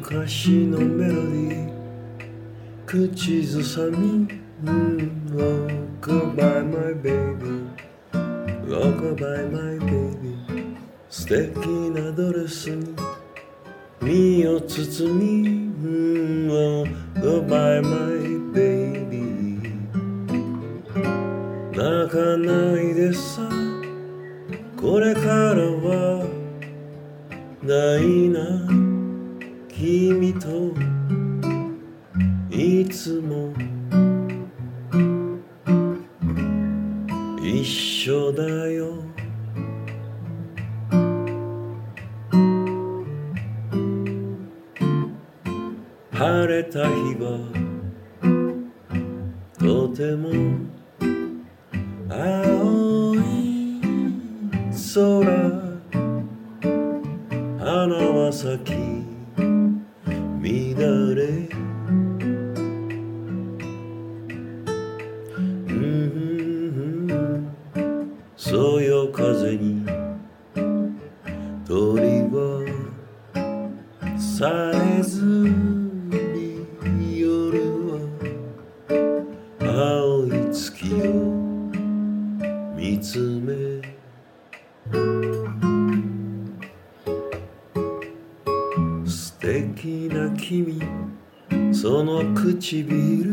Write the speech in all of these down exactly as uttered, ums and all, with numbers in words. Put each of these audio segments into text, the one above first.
歌詞のメロディー口ずさみ、うん、Rockabye my baby Rockabye my baby 素敵なドレスに身を包み、うん、Rockabye my baby 泣かないでさこれからはないな君といつも一緒だよ晴れた日はとても青い空花は咲き乱れそよ風に鳥はさえずに夜は青い月を見つめ素敵な君その唇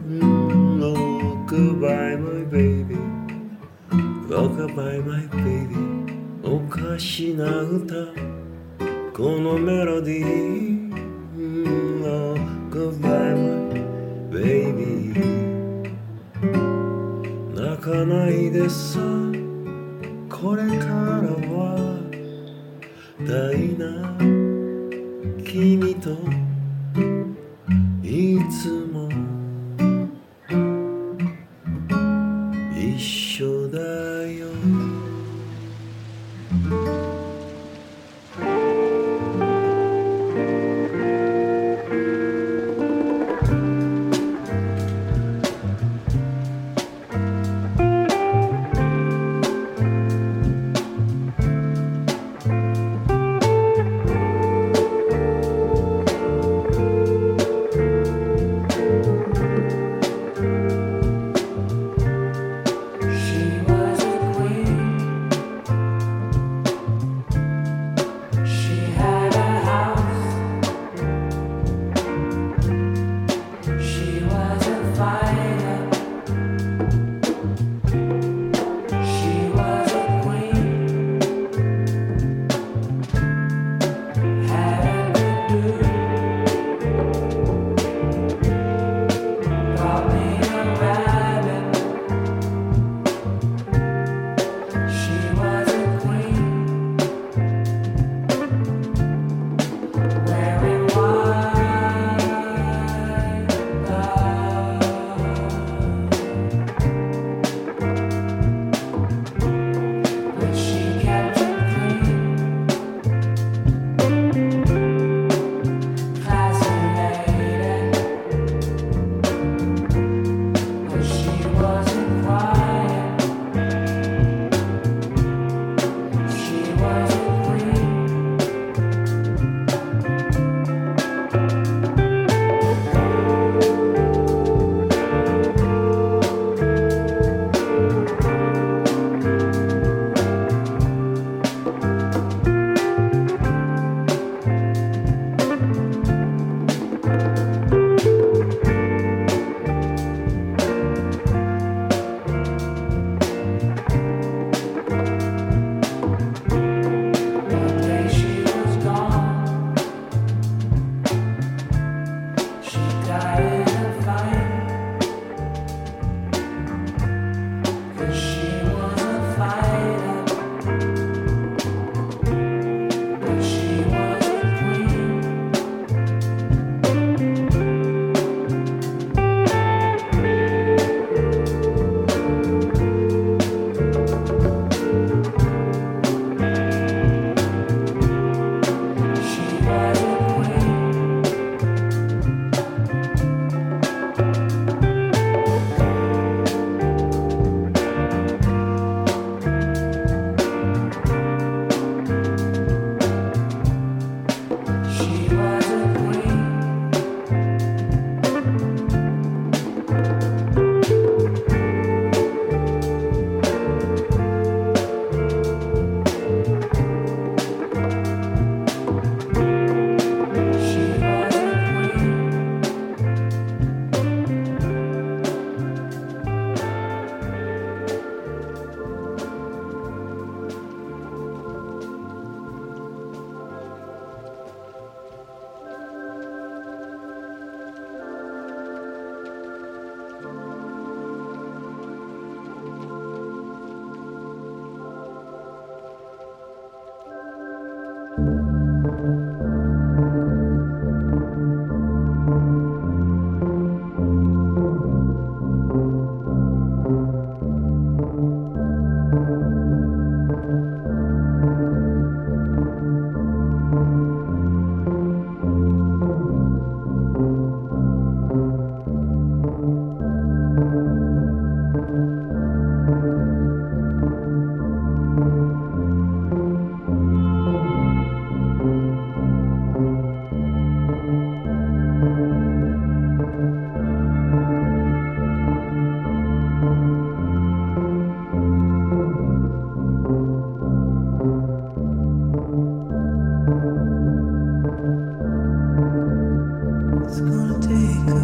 Rockabye my baby Rockabye my baby おかしな歌このメロディー Rockabye my baby 泣かないでさこれからは大な君といつも一緒だよ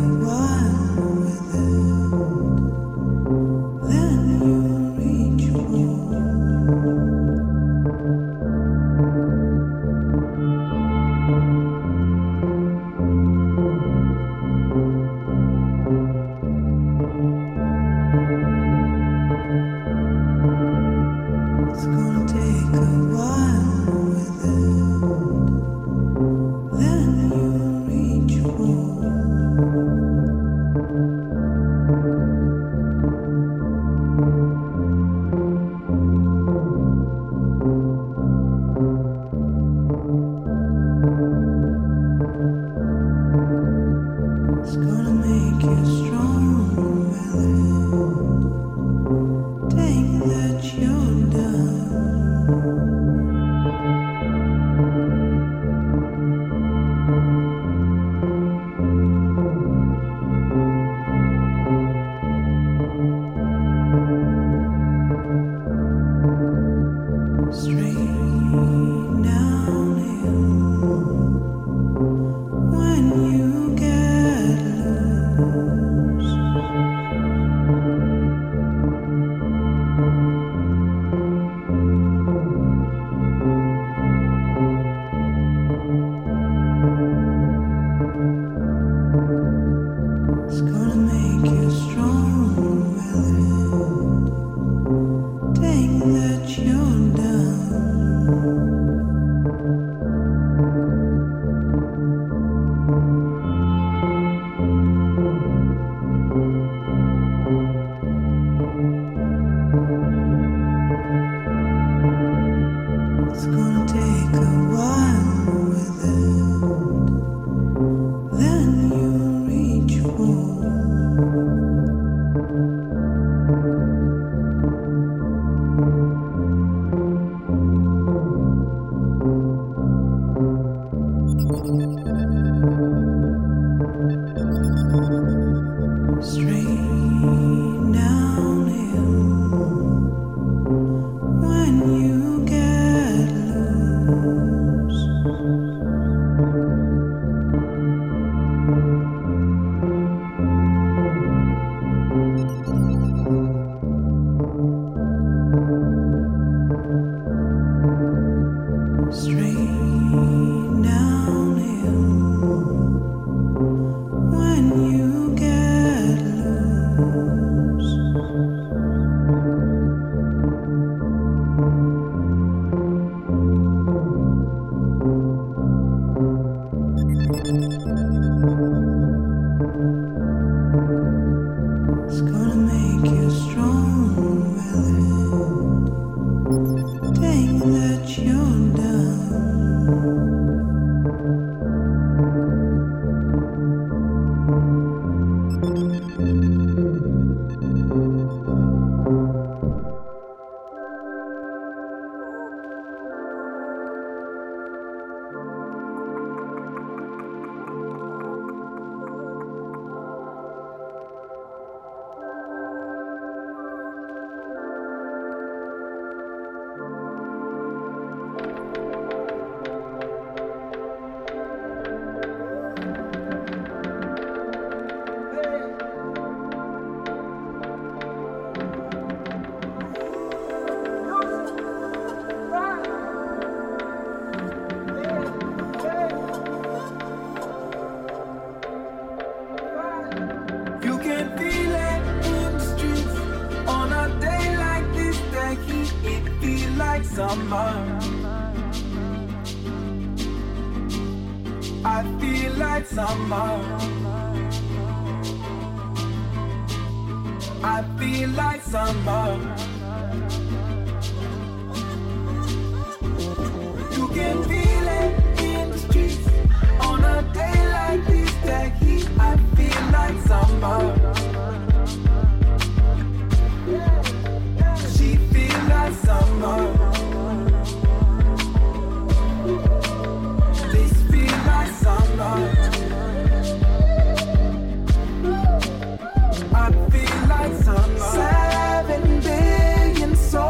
Seven billion souls.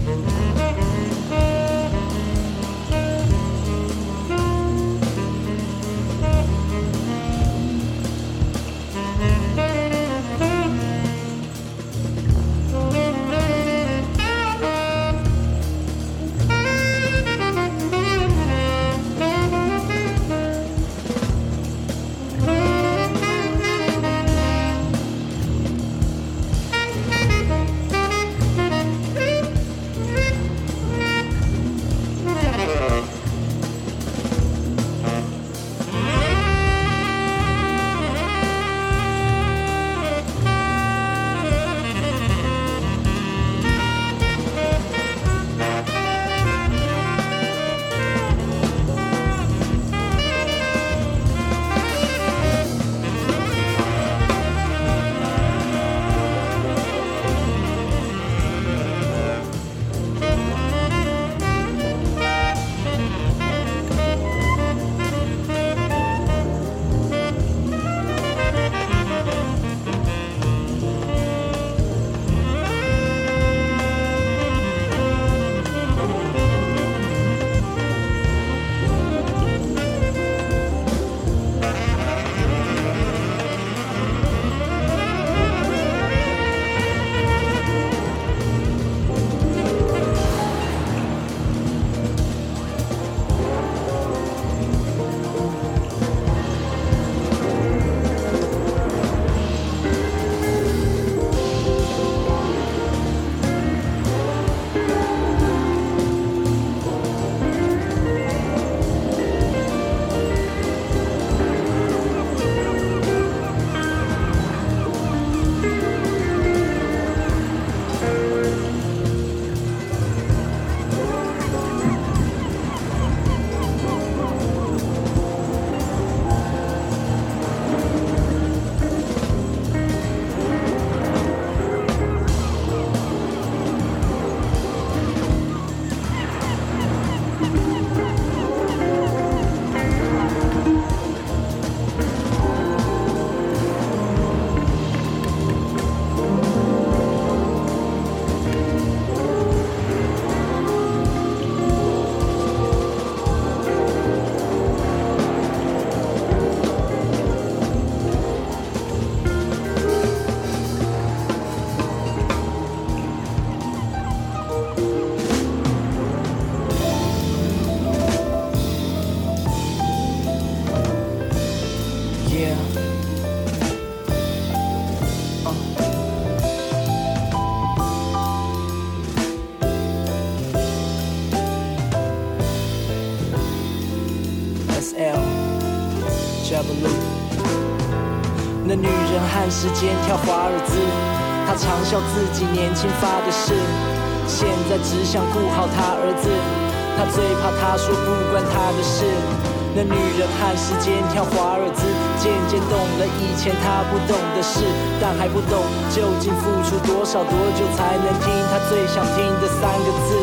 那女人和时间跳华尔兹，她常笑自己年轻发的誓，现在只想顾好她儿子，她最怕他说不关她的事。那女人和时间跳华尔兹，渐渐懂了以前她不懂的事，但还不懂究竟付出多少多久才能听她最想听的三个字，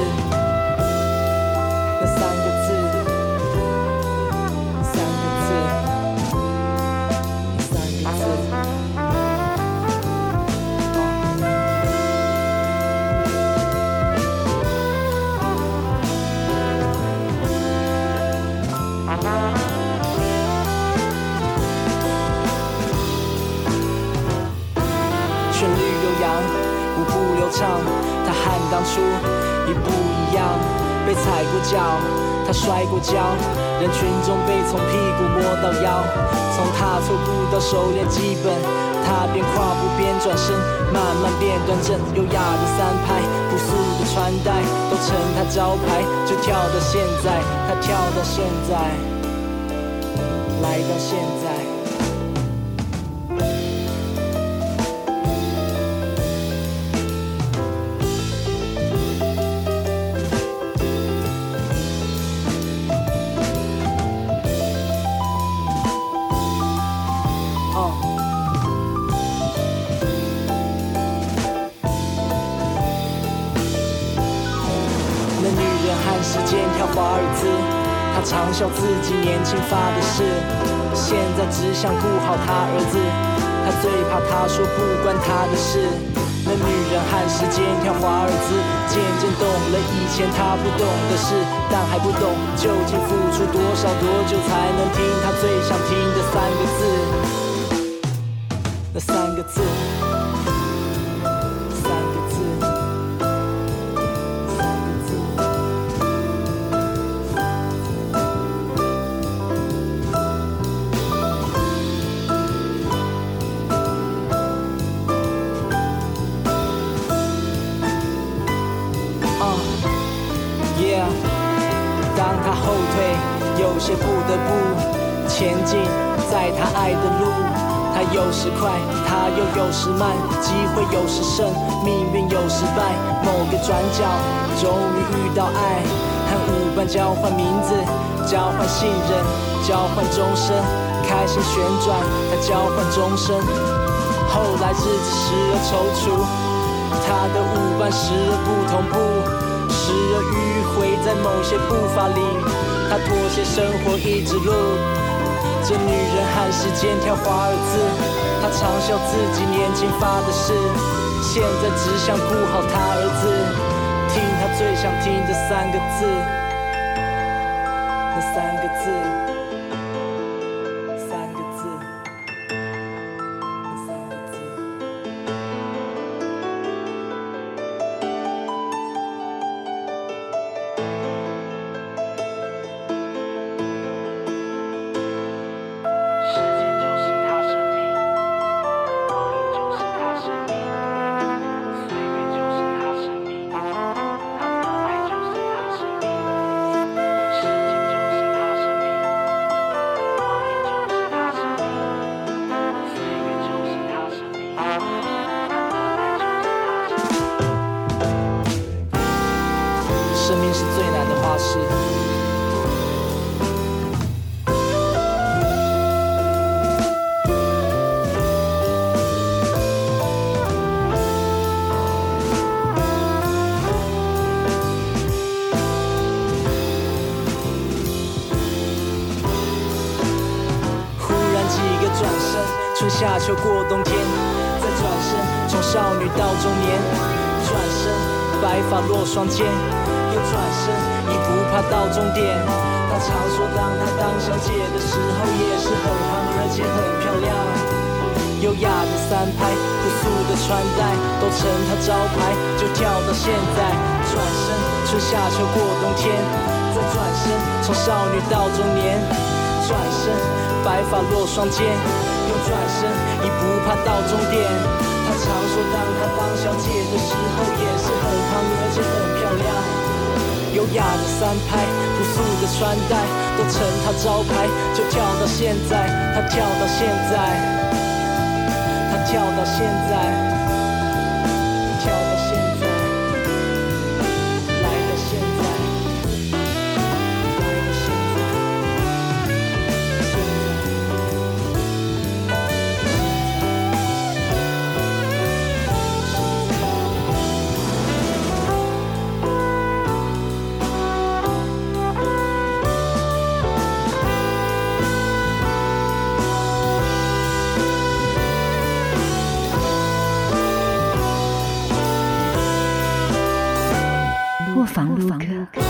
那三个字，三个字，三个字。旋律悠扬，舞步流畅，它和当初一不一样。被踩过脚，他摔过跤，人群中被从屁股摸到腰，从踏错步到熟练基本，他边跨步边转身，慢慢变端正，优雅的三拍，朴素的穿戴都成他招牌，就跳到现在，他跳到现在，来到现在。时间跳华尔兹，他常笑自己年轻发的誓，现在只想顾好他儿子，他最怕他说不关他的事。那女人和时间跳华尔兹， 渐渐懂了以前他不懂的事，但还不懂究竟付出多少多久才能听他最想听的三个字，那三个字，三个字，三个字。Yeah， 当他后退，有些不得不前进，在他爱的路，他有时快，他又有时慢，机会有时胜，命运有时败。某个转角，终于遇到爱，和舞伴交换名字，交换信任，交换终身，开心旋转，他交换终身。后来日子时而踌躇，他的舞伴时而不同步。时而迂回在某些步伐里，他妥协生活一直路。这女人和时间跳华尔兹，她嘲笑自己年轻发的誓，现在只想顾好她儿子，听她最想听的三个字，那三个字，三个字，那三个字。生命是最难的画室，忽然几个转身，春夏秋过冬天，再转身，从少女到中年，转身，白发落双肩。又转身，已不怕到终点。他常说，当他当小姐的时候，也是很胖而且很漂亮。优雅的三拍，朴素的穿戴，都成他招牌，就跳到现在。转身，春夏秋过冬天，再转身，从少女到中年。转身，白发落双肩。又转身，已不怕到终点。他常说，当他当小姐的时候，也是很胖而且很漂亮。优雅的三拍，朴素的穿戴，都成他招牌，就跳到现在，他跳到现在，他跳到现在，跳到现在，来到现在，来到现在，现破防录客。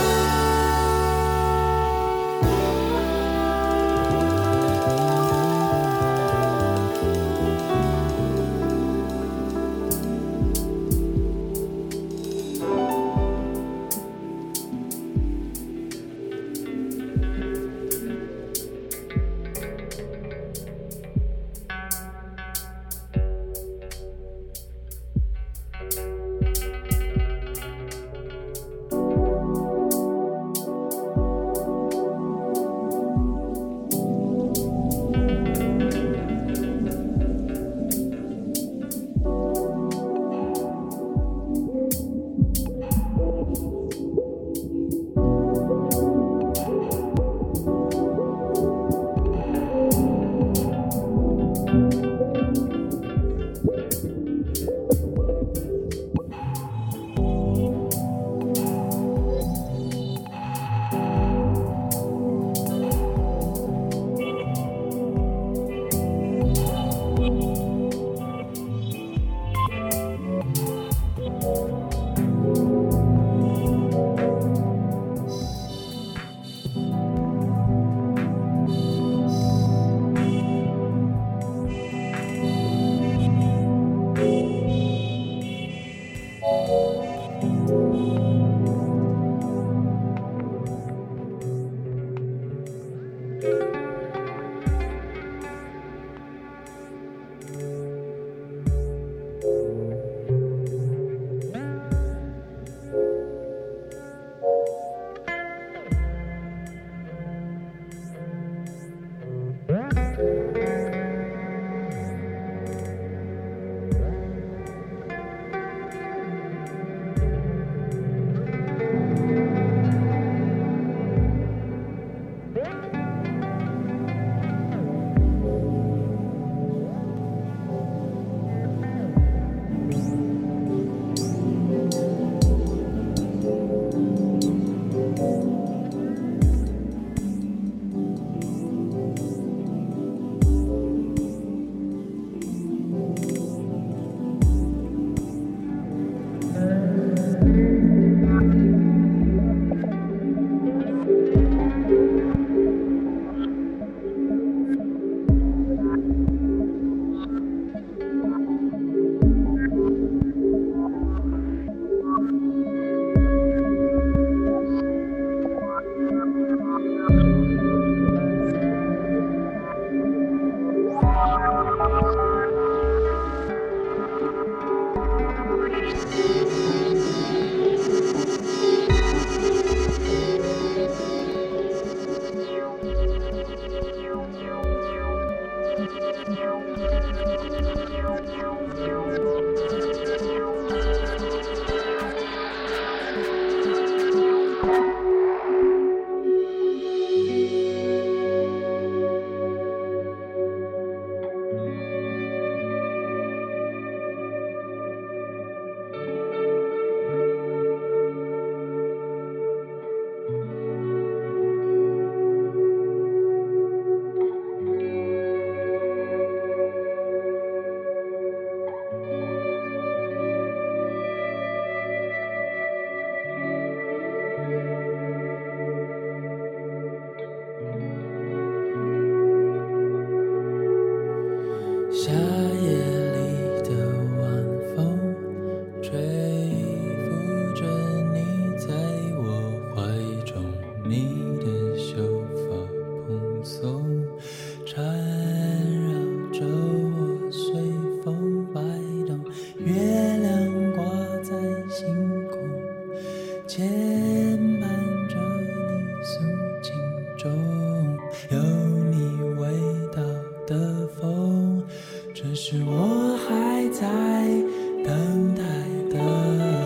牵绊着你素净中有你味道的风，这是我还在等待的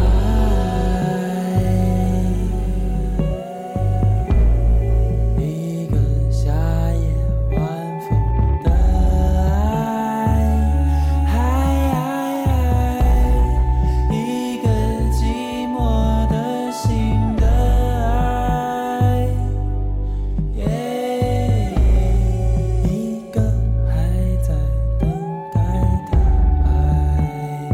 爱。一个夏夜晚风的爱，一个寂寞的心的爱，一个还在等待的爱。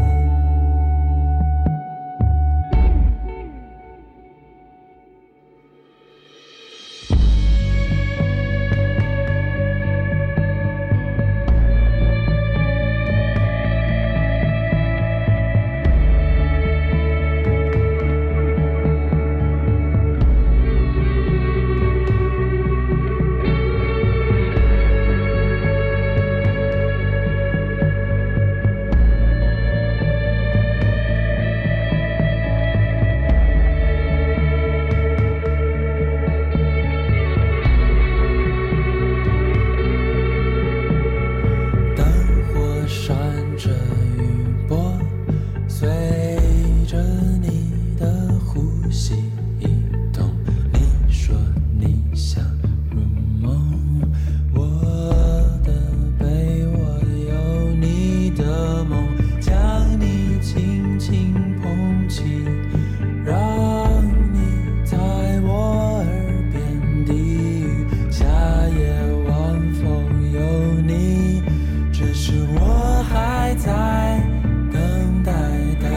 灯火闪着余波，随着你的呼吸移动。你说你想入梦，我的被窝有你的梦，将你轻轻捧起，让你在我耳边低语。夏夜晚风有你，这是我还在等待的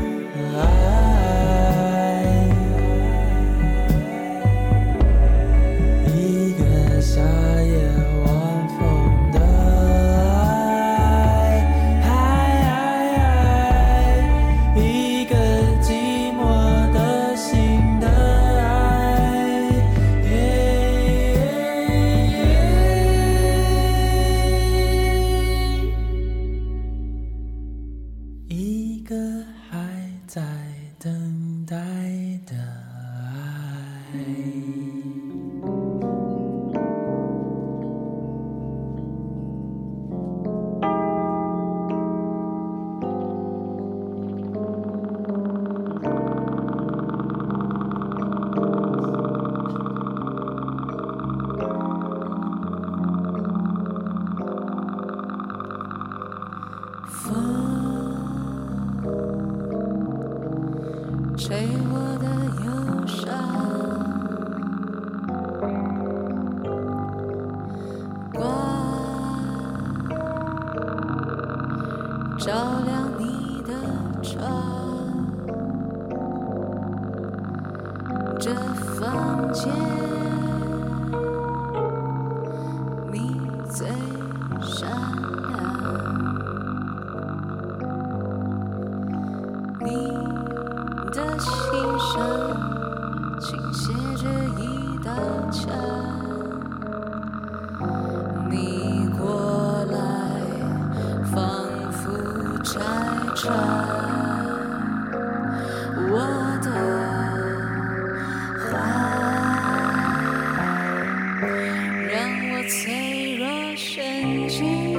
爱。一个夏夜晚风的爱，一个寂寞的心的爱，一个还在等待的爱。 吹我的忧伤，光照亮你的窗，这房间你最闪亮，你的心上倾斜着一道墙，你过来仿佛拆穿我的话，让我脆弱神经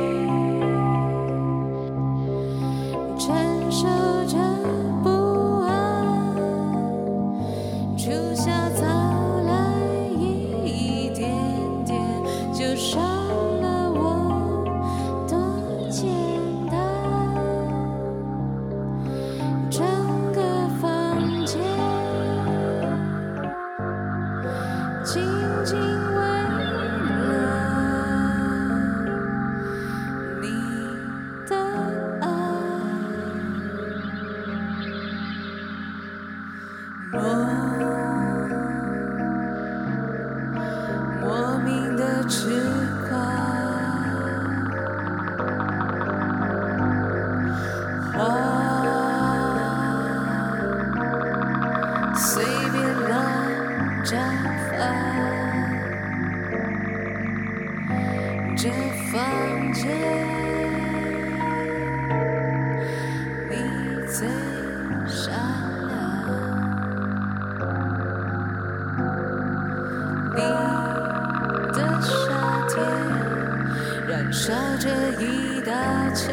承受着不安，初夏早来一点点，就伤了我多简单。整个房间静静为了你的爱。莫名的痴狂，花随便乱绽放，这房间你最闪亮。 烧着一道墙，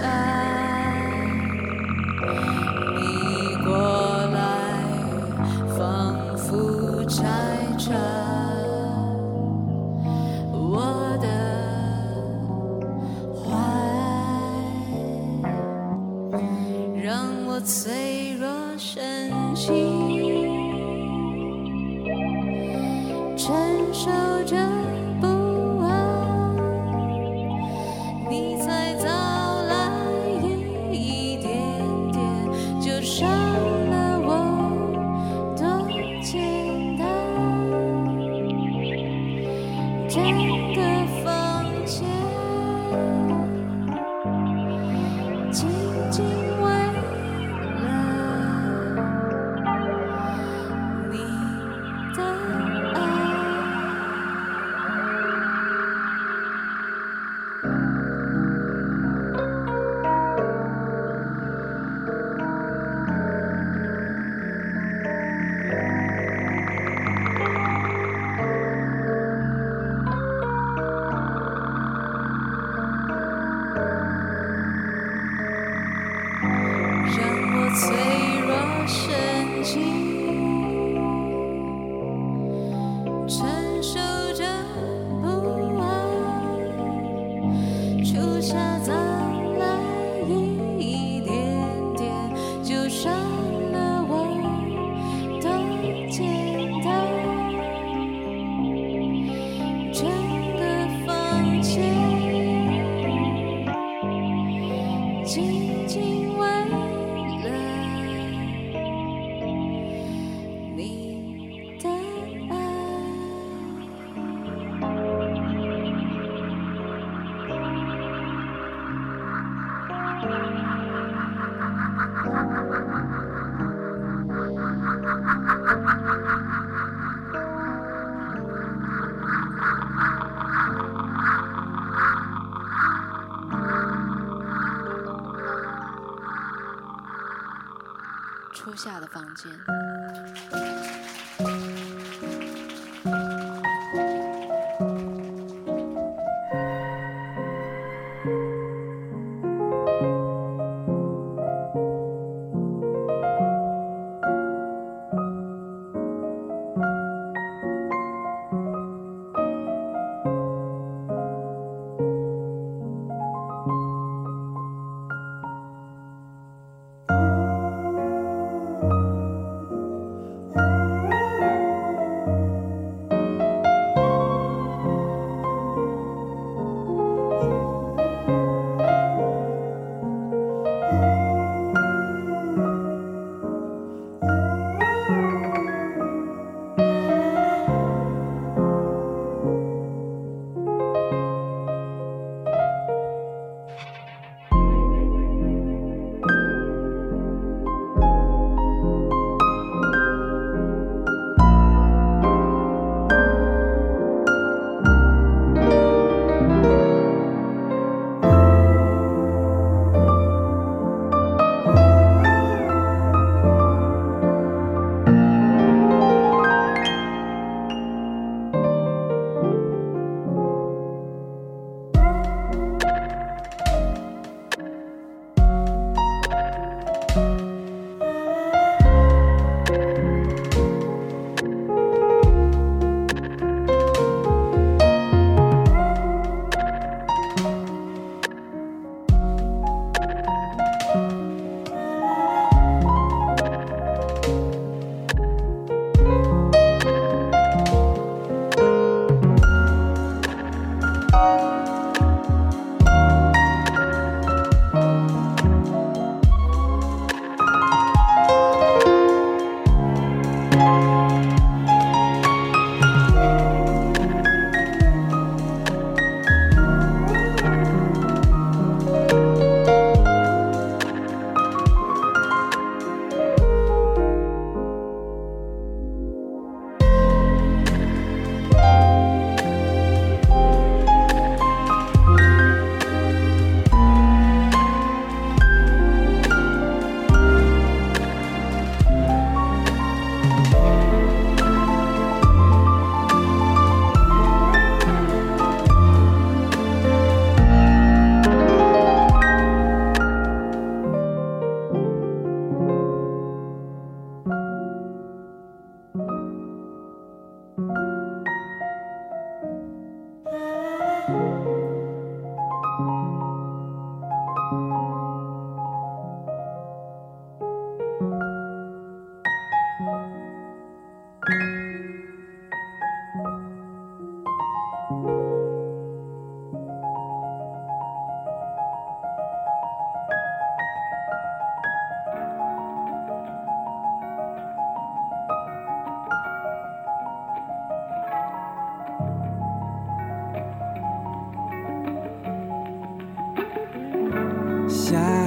你过来，仿佛拆穿我的怀，让我脆弱神经承受着不安，你才早来一点点就伤了我，多简单。整个房间静静为了你的爱。让我脆弱神经承受着不安，初夏早来一点点就伤了我，多简单。整个房间静静为了你的爱。初夏的房间。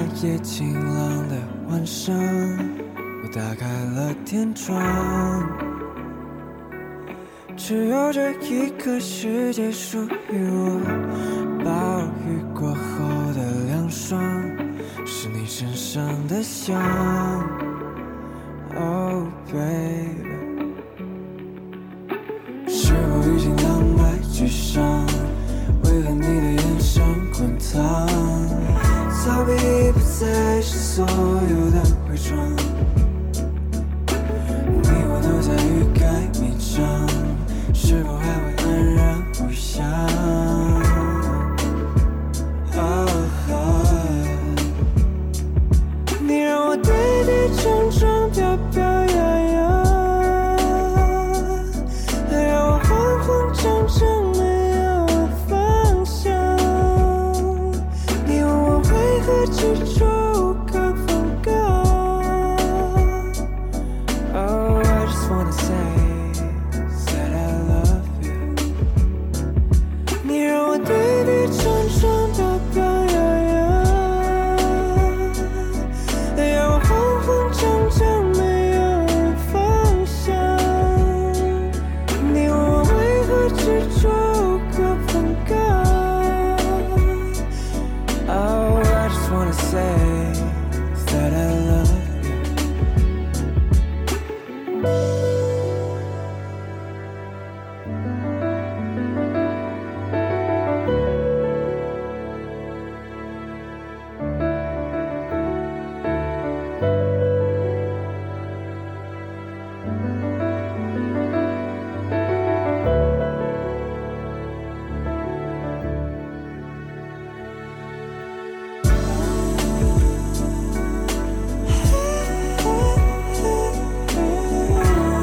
夜晴朗的晚上，我打开了天窗，只有这一个世界属于我。暴雨过后的凉爽，是你身上的香。Oh baby， 是否已经两败俱伤？为何你的眼神滚烫？逃避已不再是所有的伪装，你我都在欲盖弥彰，是否还会安然无恙？你让我跌跌撞撞，飘飘摇摇，让我慌慌张张，没有方向。你问我为何执着无可放高 Oh, I just wanna say that I love you。 你让我跌跌撞撞，飘飘摇摇，让我慌慌张张，没有方向。你问我为何执着无可放高 Oh, I just wanna say that I love you。 Oh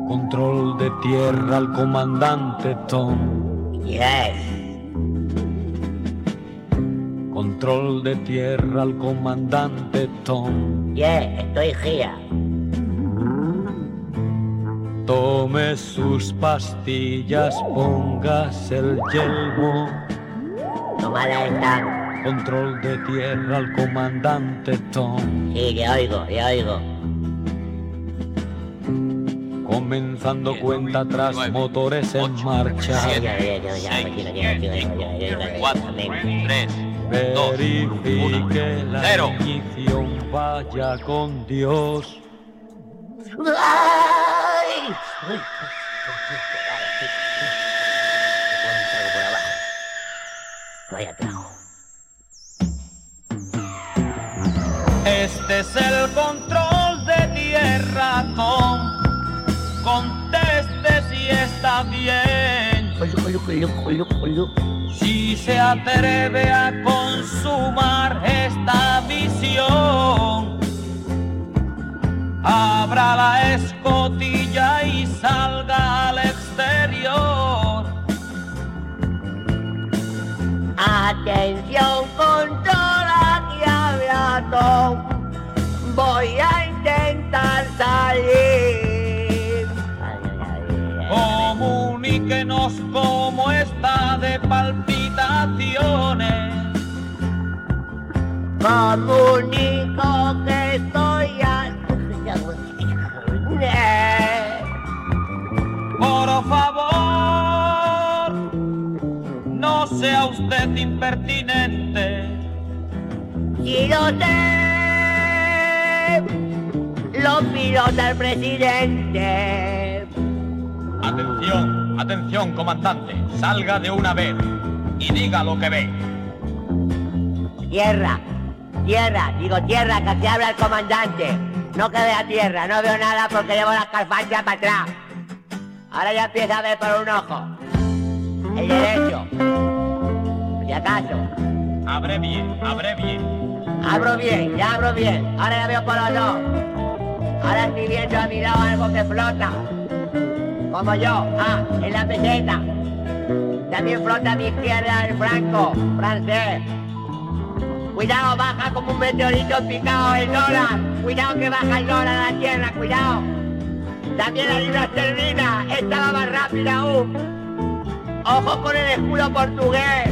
Control de tierra al comandante Tom. Yes. Control de tierra al comandante Tom. Yeah, estoy here. Tome sus pastillas, póngase el yelmo. Tomada esta. Control de tierra al comandante Tom. Sí, le oigo, le oigo. Comenzando diez, cuenta atrás, nueve, motores ocho, en marcha. siete, seis, cuatro, tres, verifique la cero. Ignición, vaya con Dios. ¡Ay! Vaya trago. Este es el control de tierra, Tom. Conteste si está bien. Si se atreve a consumar esta misión, abra la escotilla y salga al exterior. Atención, controla que habla Tom. Voy a intentar salir. Comuníquenos cómo está de palpitaciones. Comunico que estoy a... Por favor, no sea usted impertinente. Si lo sé, lo pilota el presidente. Atención, atención, comandante. Salga de una vez y diga lo que ve. Tierra, tierra, digo tierra, que te habla el comandante. No que vea tierra, no veo nada porque llevo las calfanchas para atrás. Ahora ya empieza a ver por un ojo. El derecho. Si acaso. Abre bien, abre bien. Abro bien, ya abro bien. Ahora ya veo por los dos. Ahora estoy viendo a mi lado algo que flota. Como yo, ah, en la peseta. También flota a mi izquierda el franco, francés. Cuidado, baja como un meteorito picado el dólar. Cuidado que baja el dólar a la tierra, cuidado. También la libra esterlina, esta va más rápida aún. Ojo con el escudo portugués.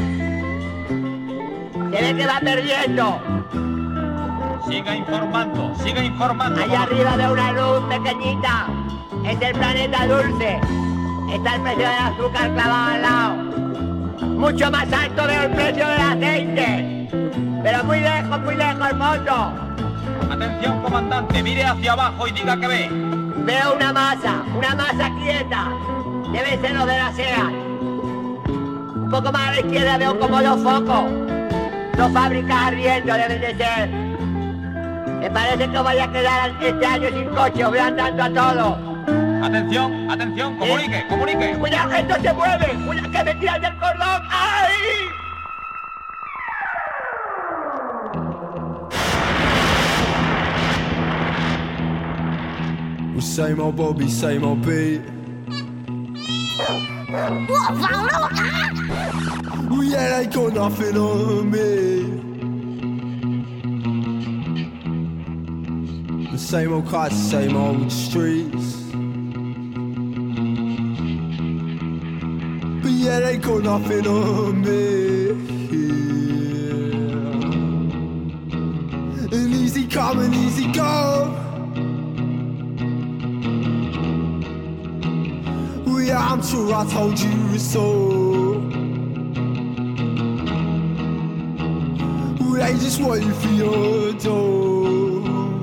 Se ve que va perdiendo. Siga informando, siga informando. Allá arriba veo una luz pequeñita. Es el planeta dulce. Está el precio del azúcar clavado al lado. Mucho más alto veo el precio del aceite. Pero muy lejos, muy lejos el fondo. Atención, comandante, mire hacia abajo y diga que ve. Veo una masa, una masa quieta. Debe ser lo de la S E A. Un poco más a la izquierda veo como dos focos. Dos fábricas ardiendo deben de ser. Me parece que vaya a quedar este año sin coche, voy andando a todo. Atención, atención, comunique, ¿Sí? comunique. Cuidado que esto se mueve, cuidado que me tiran del cordón. ¡Ay! Same old Bobby, same old Pete. 我忘了我啊 Yeah, they got nothing on me. The same old cars, same old streets. But yeah, they got nothing on me. Yeah. And easy come and easy go. Yeah, I'm sure I told you so. They just waiting for your door.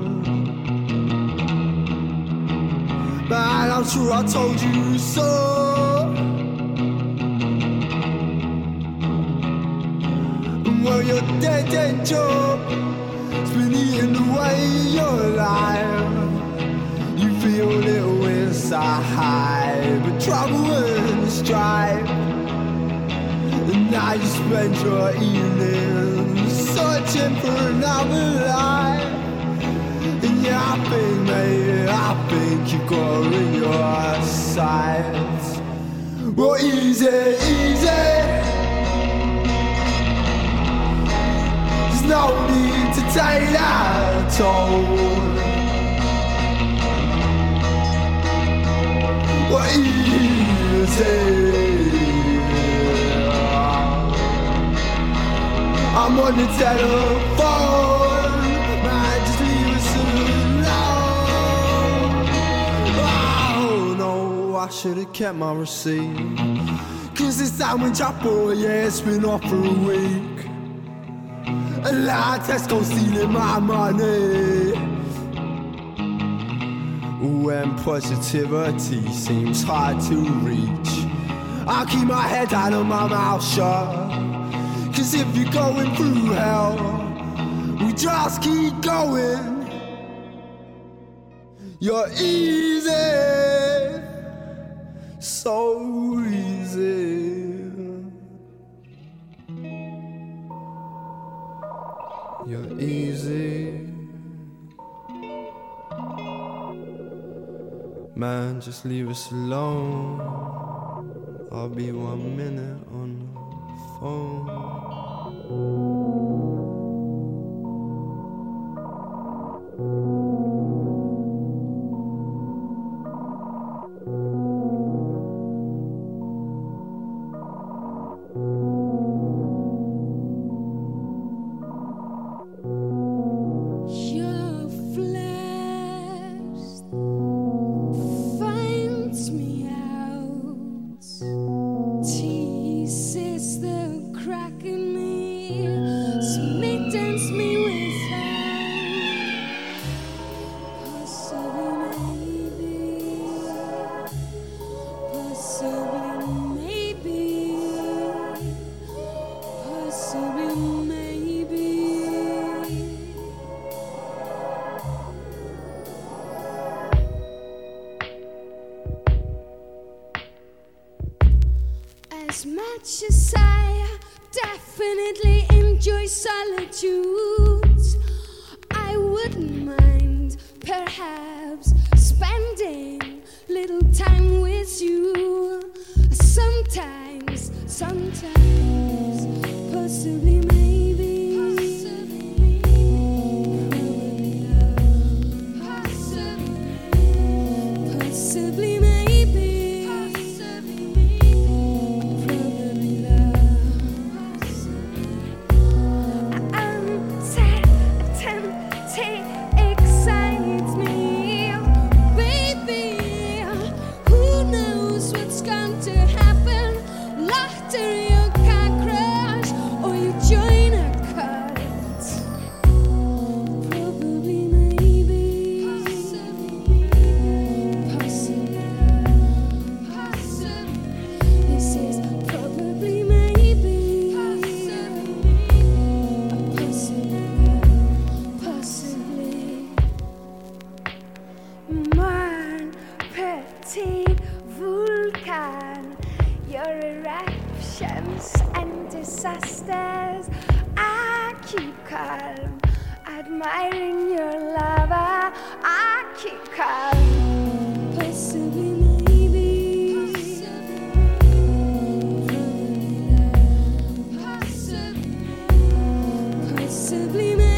Man, I'm sure I told you so. Well, your dead, dead job has been eating away your life. You feel a little inside, but trouble and strife. And now you spend your evening searching for another life. And yeah, I think, mate, I think you got in your sights. Well, easy, easy. There's no need to take that toll. Well, easy. I'm on the telephone, man, just leave us alone. Oh no, I should've kept my receipt, cause this sandwich I bought, yeah, it's been off for a week. And now Tesco stealing my money. When positivity seems hard to reach, I keep my head down and my mouth shut. Cause if you're going through hell, we just keep going. You're easy, so easy. You're easy. Man, just leave us alone. I'll be one minute on the phone. As much as I definitely enjoy solitude, I wouldn't mind perhaps spending little time with you. Sometimes, sometimes, possibly maybe. Possibly maybe. Vulcan, your eruptions and disasters, I keep calm, admiring your lava, I keep calm, possibly maybe, possibly maybe.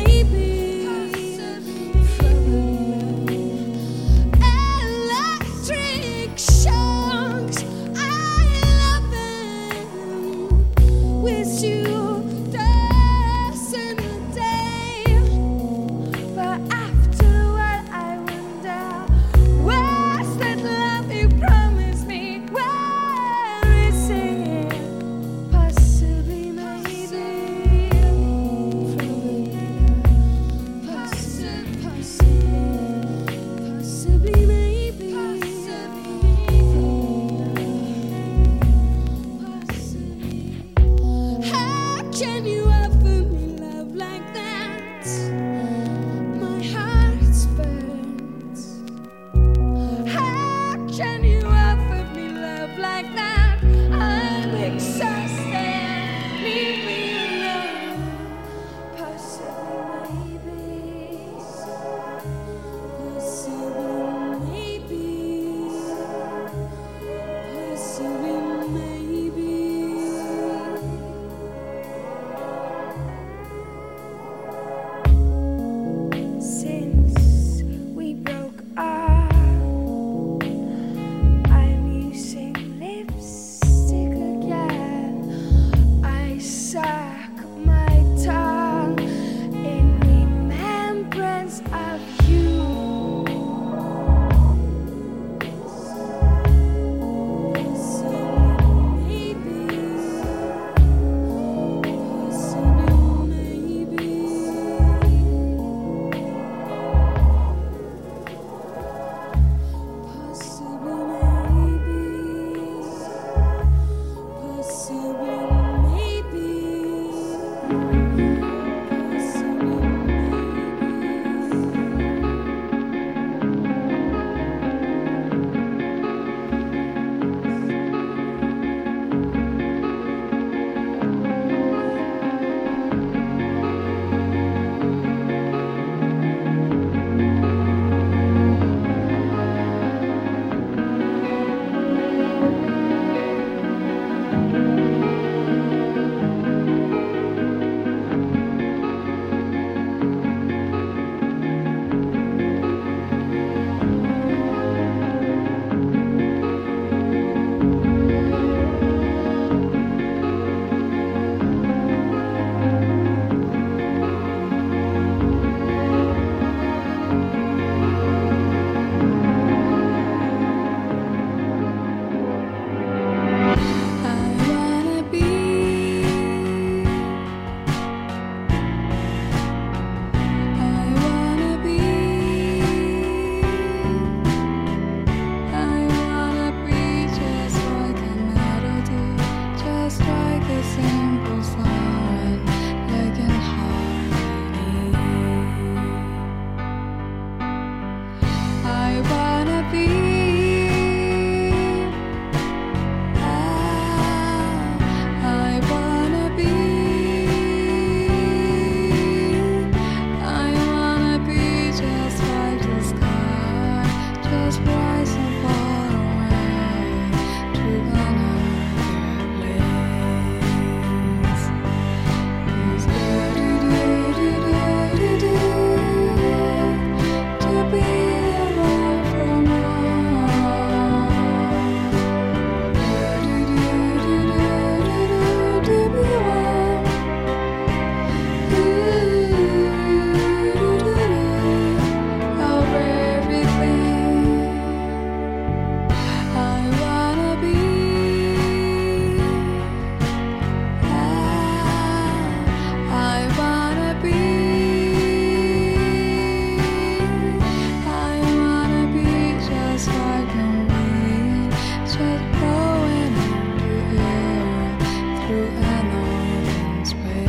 just blowing in the air through an open space.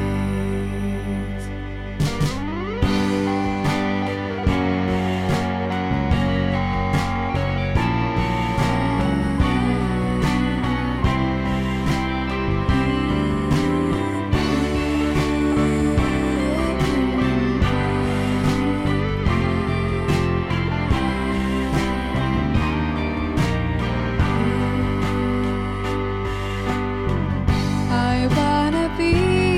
I wanna be,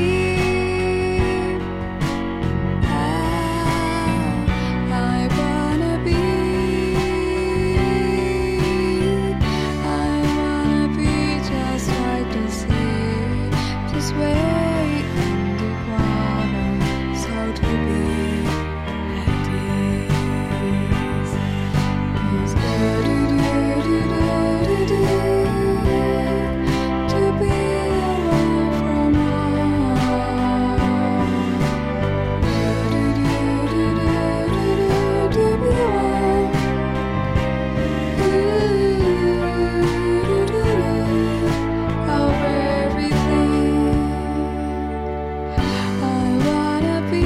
I wanna be, I wanna be just like the sea, just way in the water, so to be at ease. It's good to do, do, do, do, do, to be away from home. Do, do, do, do, do, do, to be warm. Do, do, do, do, over everything. I wanna be,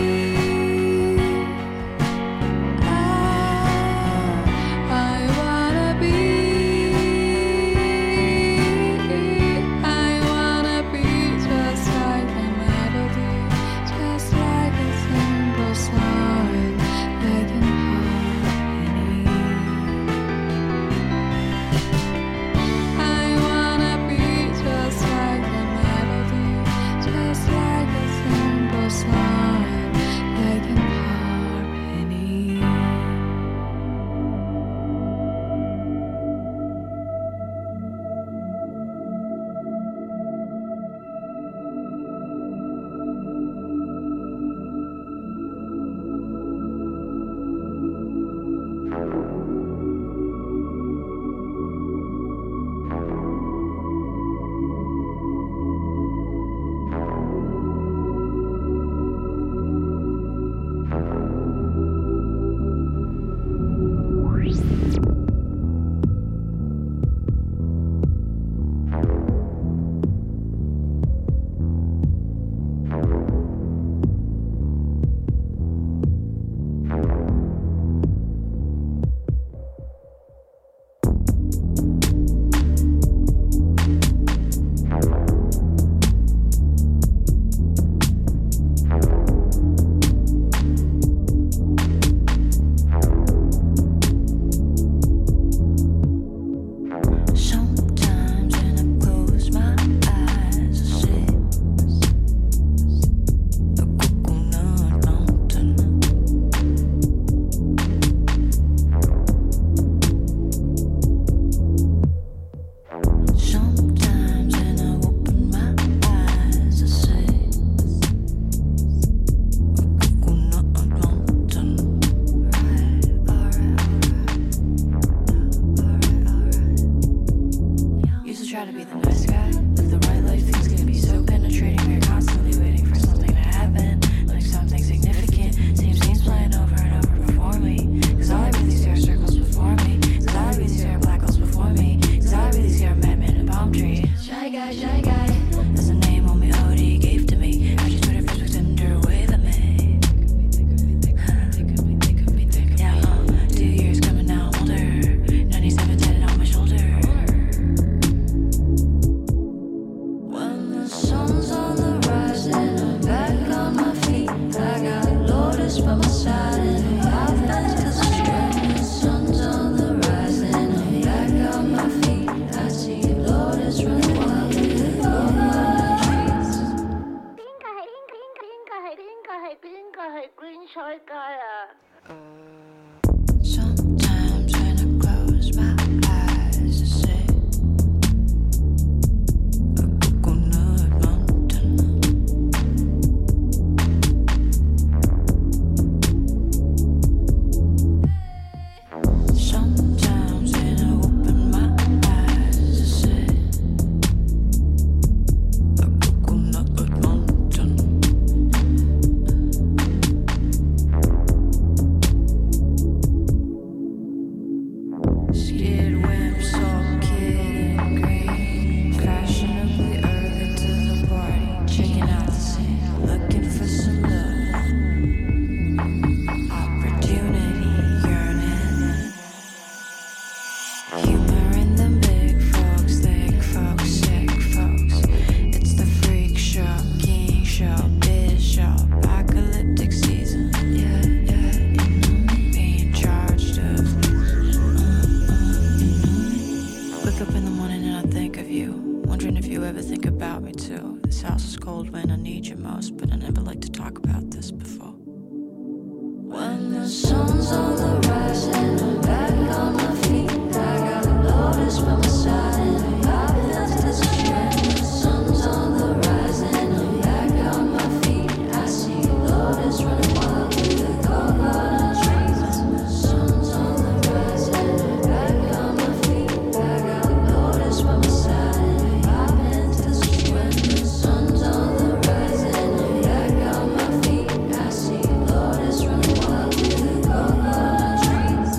I wanna be, I wanna be just like a melody, just like a simple song, like an harmony. I wanna be just like a melody, just like a simple song, like an harmony. Sometimes when I close my eyes, I see a coconut mountain. Sometimes when I open my eyes, I see a coconut mountain. Right, alright, alright, alright, alright. Used to try to be the nice guy, live the right life, things can be so penetrating. We're constantly waiting for something to happen, like something significant. Same scenes playing over and over before me. Cause all I really see are circles before me. Cause all I really see are black holes before me. Cause all I really see are madmen and palm trees. Shy guy, shy guy, that's the name homie Odie gave to me. I just Twitter Facebook Tinder wave at me. Yeah, uh, two years coming now, I'm older. ninety-seven tatted on my shoulder. up in the morning and I think of you, wondering if you ever think about me too. This house is cold when I need you most, but I never like to talk about this before. When the sun's on the rise and I'm back on my feet, I got Lotus by my side and I hop into the strand. The sun's on the rise and I'm back on my feet. I see Lotus running wild through the coconut trees. The sun's on the rise and I'm back on my feet. I got Lotus by my side and I hop into the strand. The sun's on the rise and I'm back on my feet. I see Lotus running wild through the coconut trees.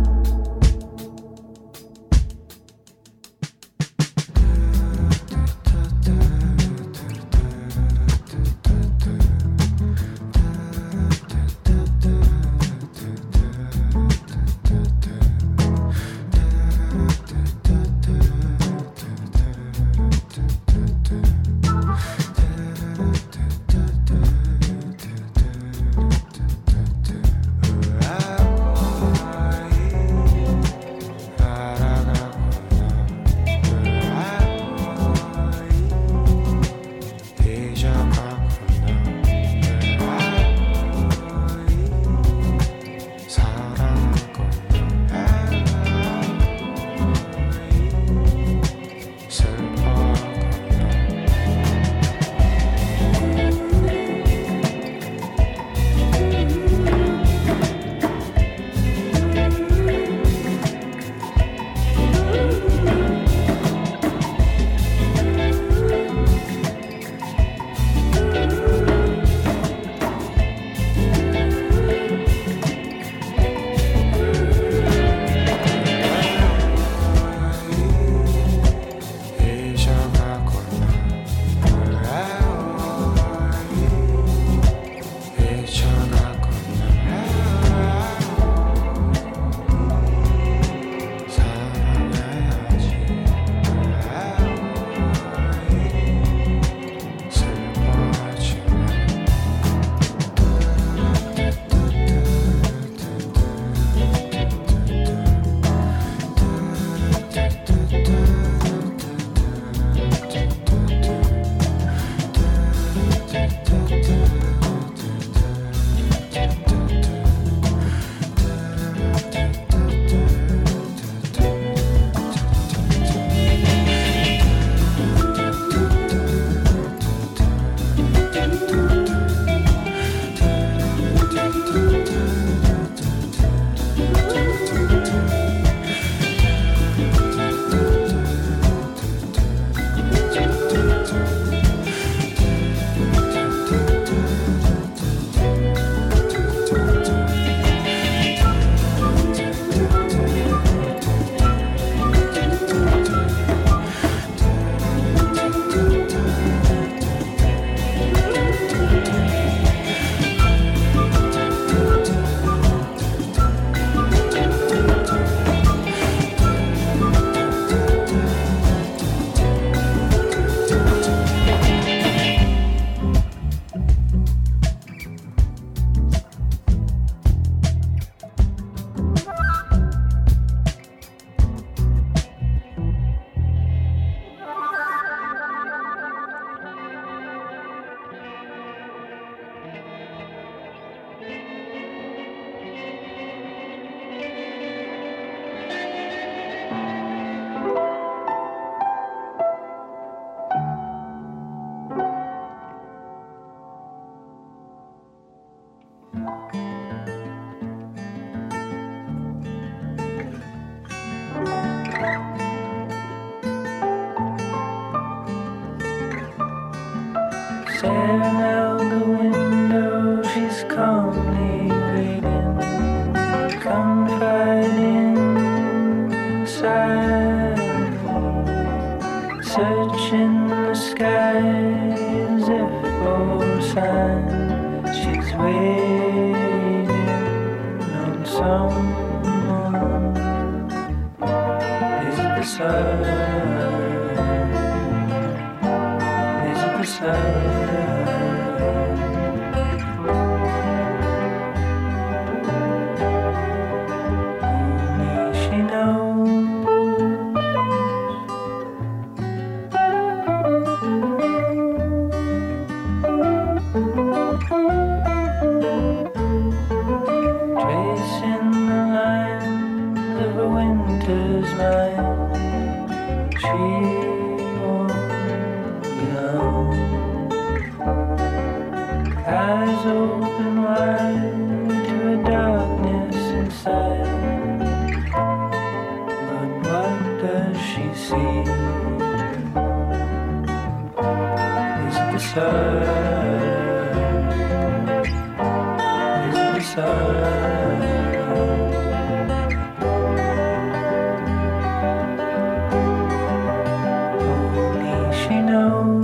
Staring out the window, she's calmly waiting, confiding silently, searching the skies if for signs. She's waiting on someone. Is it the sun? Is it the sun? Only she knows. she won't know. Eyes open wide to a darkness inside. But what does she see? Is it the sun? Is it the sun? Only she knows.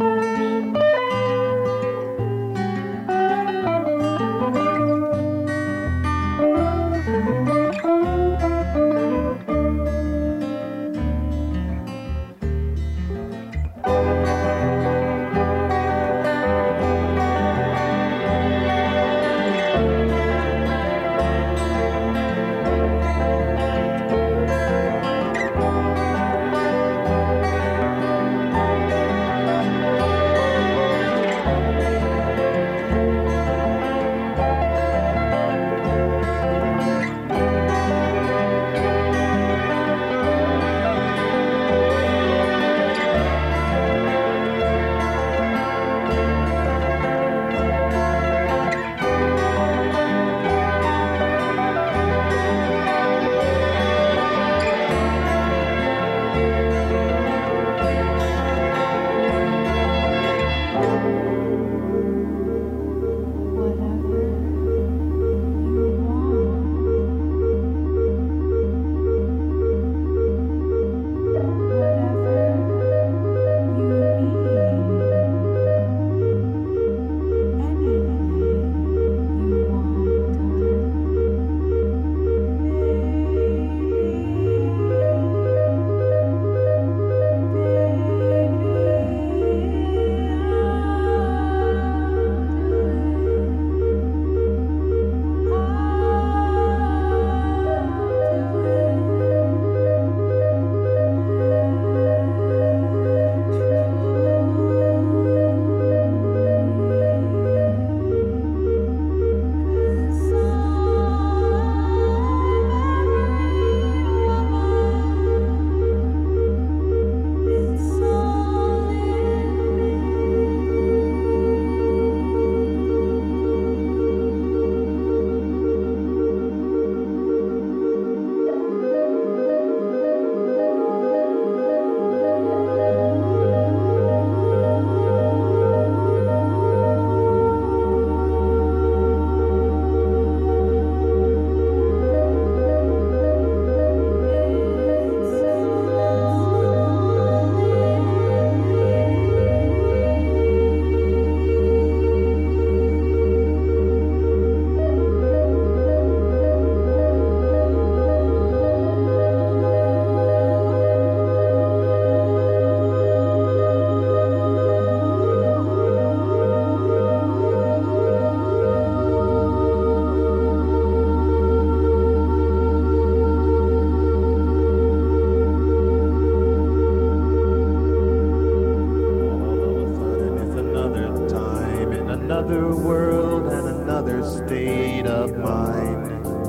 another world and another state of mind.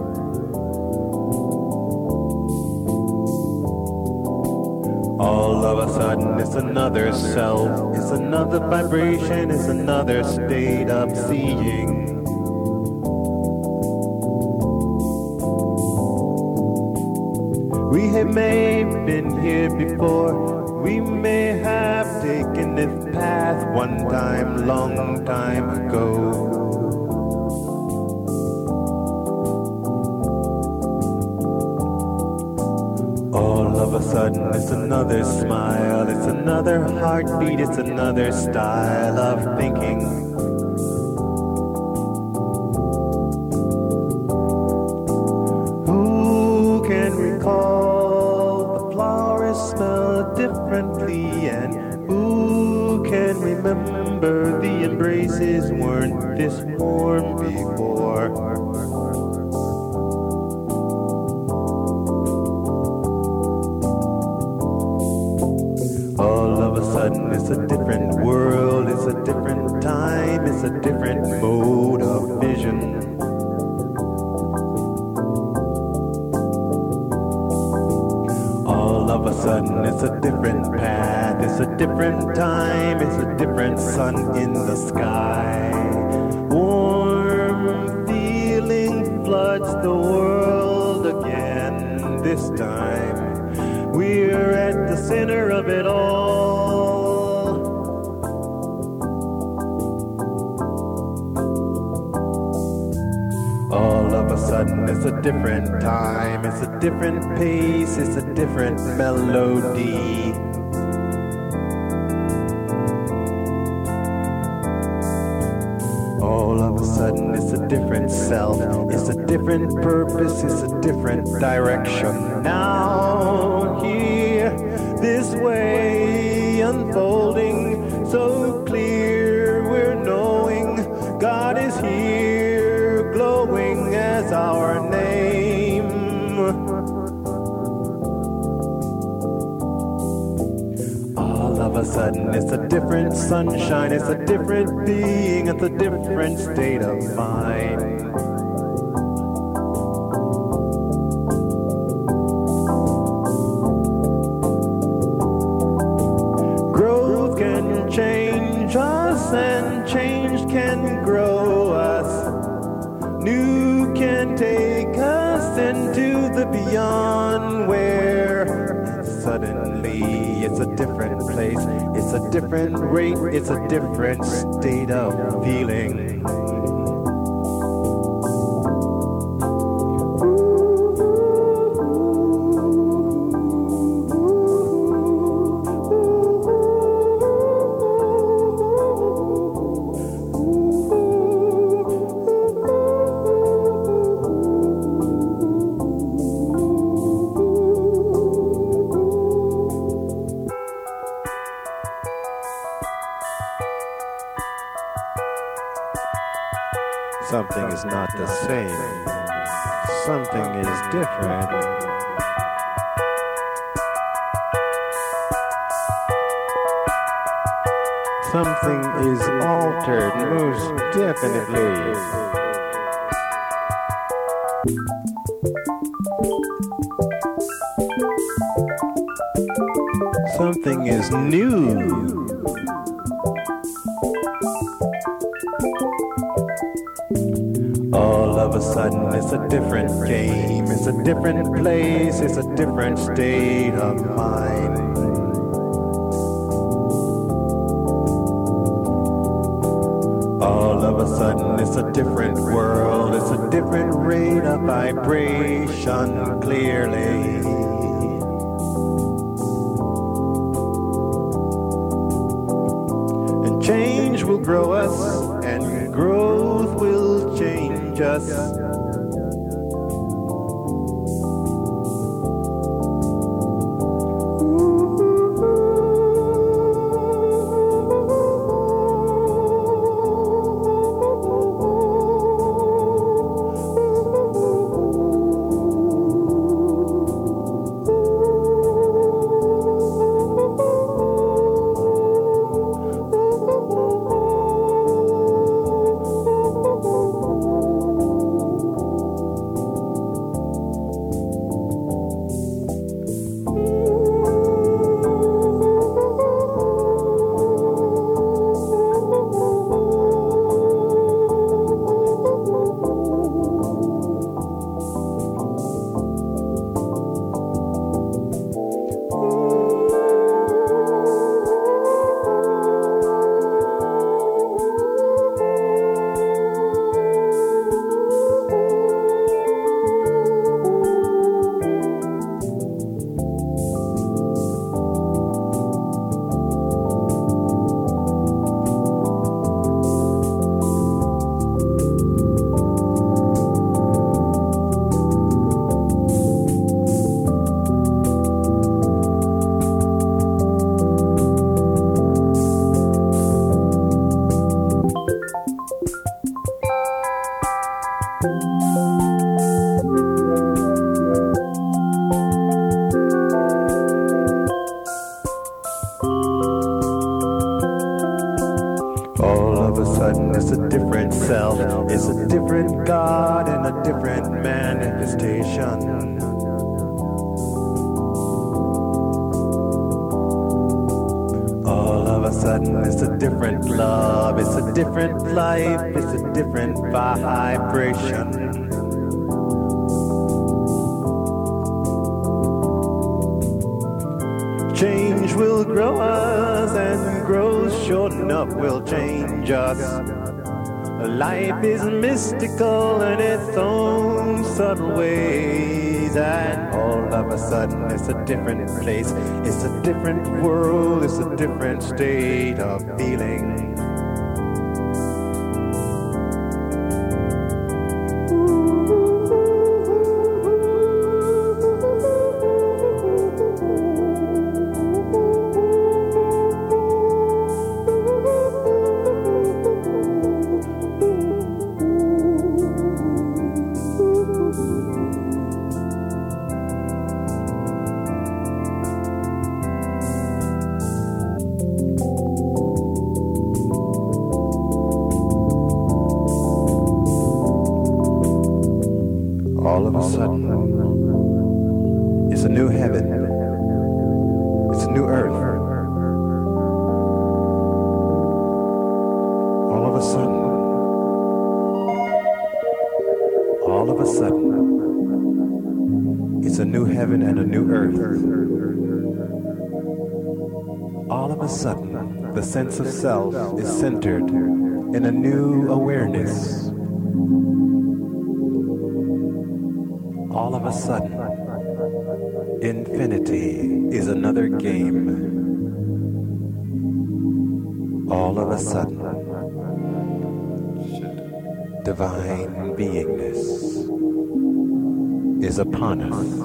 All of a sudden it's another self, it's another vibration, it's another state of seeing. We have may have been here before, we may have taken this path one time, long time ago. All of a sudden it's another smile, it's another heartbeat, it's another style of thinking. Who can recall the flowers smell differently, and who can remember the embraces weren't this warm before? All of a sudden it's a different world, it's a different time, it's a different mode of vision. All of a sudden it's a different path, it's a different time, it's a different sun in the sky. Warm feeling floods the world again. This time we're at the center of it all. All of a sudden it's a different time, it's a different pace, it's a different melody. All of a sudden it's a different self, it's a different purpose, it's a different direction. Now here, this way unfolding, so clear we're knowing God is here, glowing as our name. All of a sudden it's a different sunshine, it's a different being, it's a different state of mind. Growth can change us and change can grow us. New can take us into the beyond where suddenly it's a different place, it's a different rate, it's a different state of feeling. Something is not the same. Something is different. Something is altered, most definitely. Something is new. All of a sudden it's a different game, it's a different place, it's a different state of mind. All of a sudden it's a different world, it's a different rate of vibration clearly. And change will grow us, and growth will change us. All of a sudden it's a different self, it's a different God and a different manifestation. sudden it's a different love, it's a different life, it's a different vibration. Change will grow us, and growth sure enough will change us. Life is mystical in its own subtle ways, and all of a sudden it's a different place, it's a different world, it's a different state of feeling. All of a sudden, it's a new heaven, it's a new earth. All of a sudden, all of a sudden, it's a new heaven and a new earth. All of a sudden, the sense of self is centered in a new awareness. All of a sudden, infinity is another game. All of a sudden, divine beingness is upon us.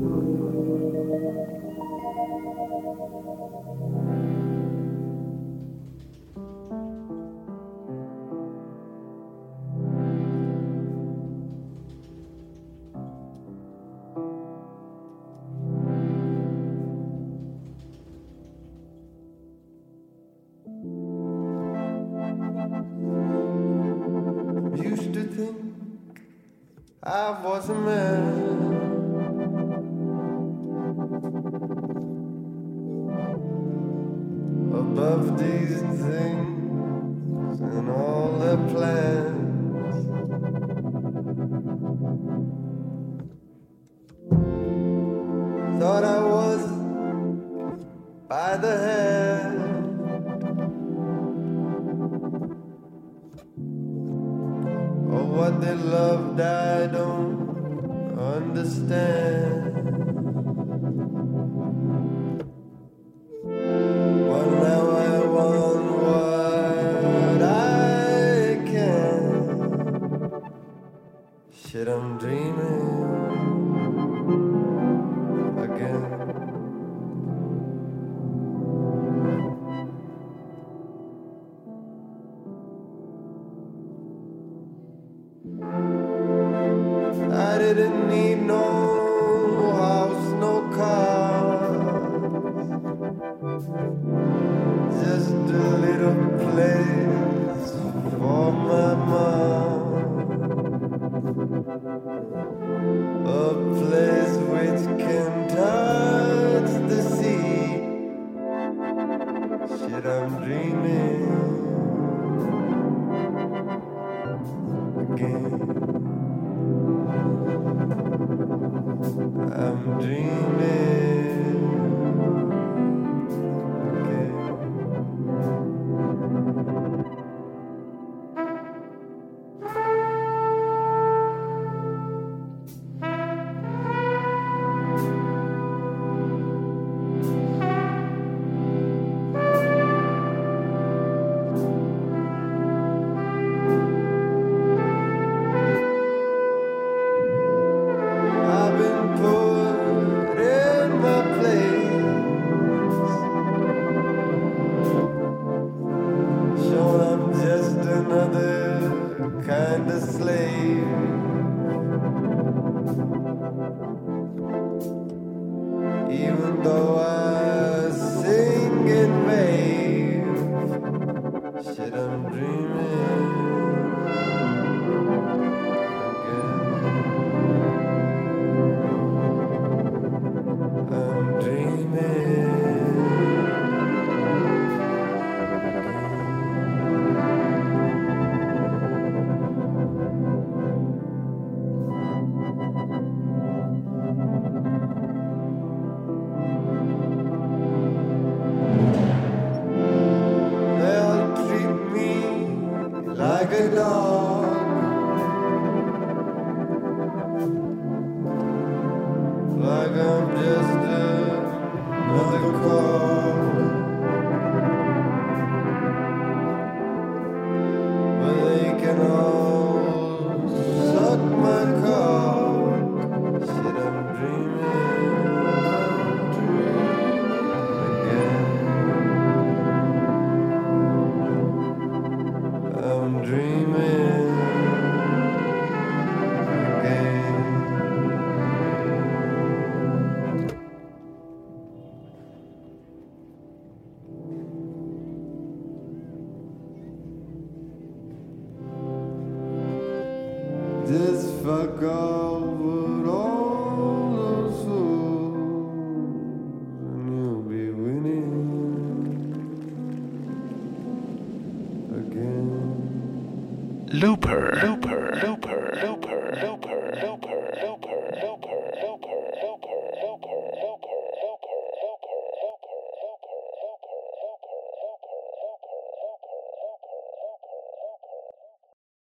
Used to think I was a man, above these things and all their plans. Thought I was by the hand, what they loved I don't understand. But now I want what I can. Shit, I'm dreaming again. I didn't need no house, no car, just a little place for my mom, a place which can touch the sea. Shit, I'm dreaming again. I'm dreaming again. fuck off with all those souls, and you'll be winning again. Looper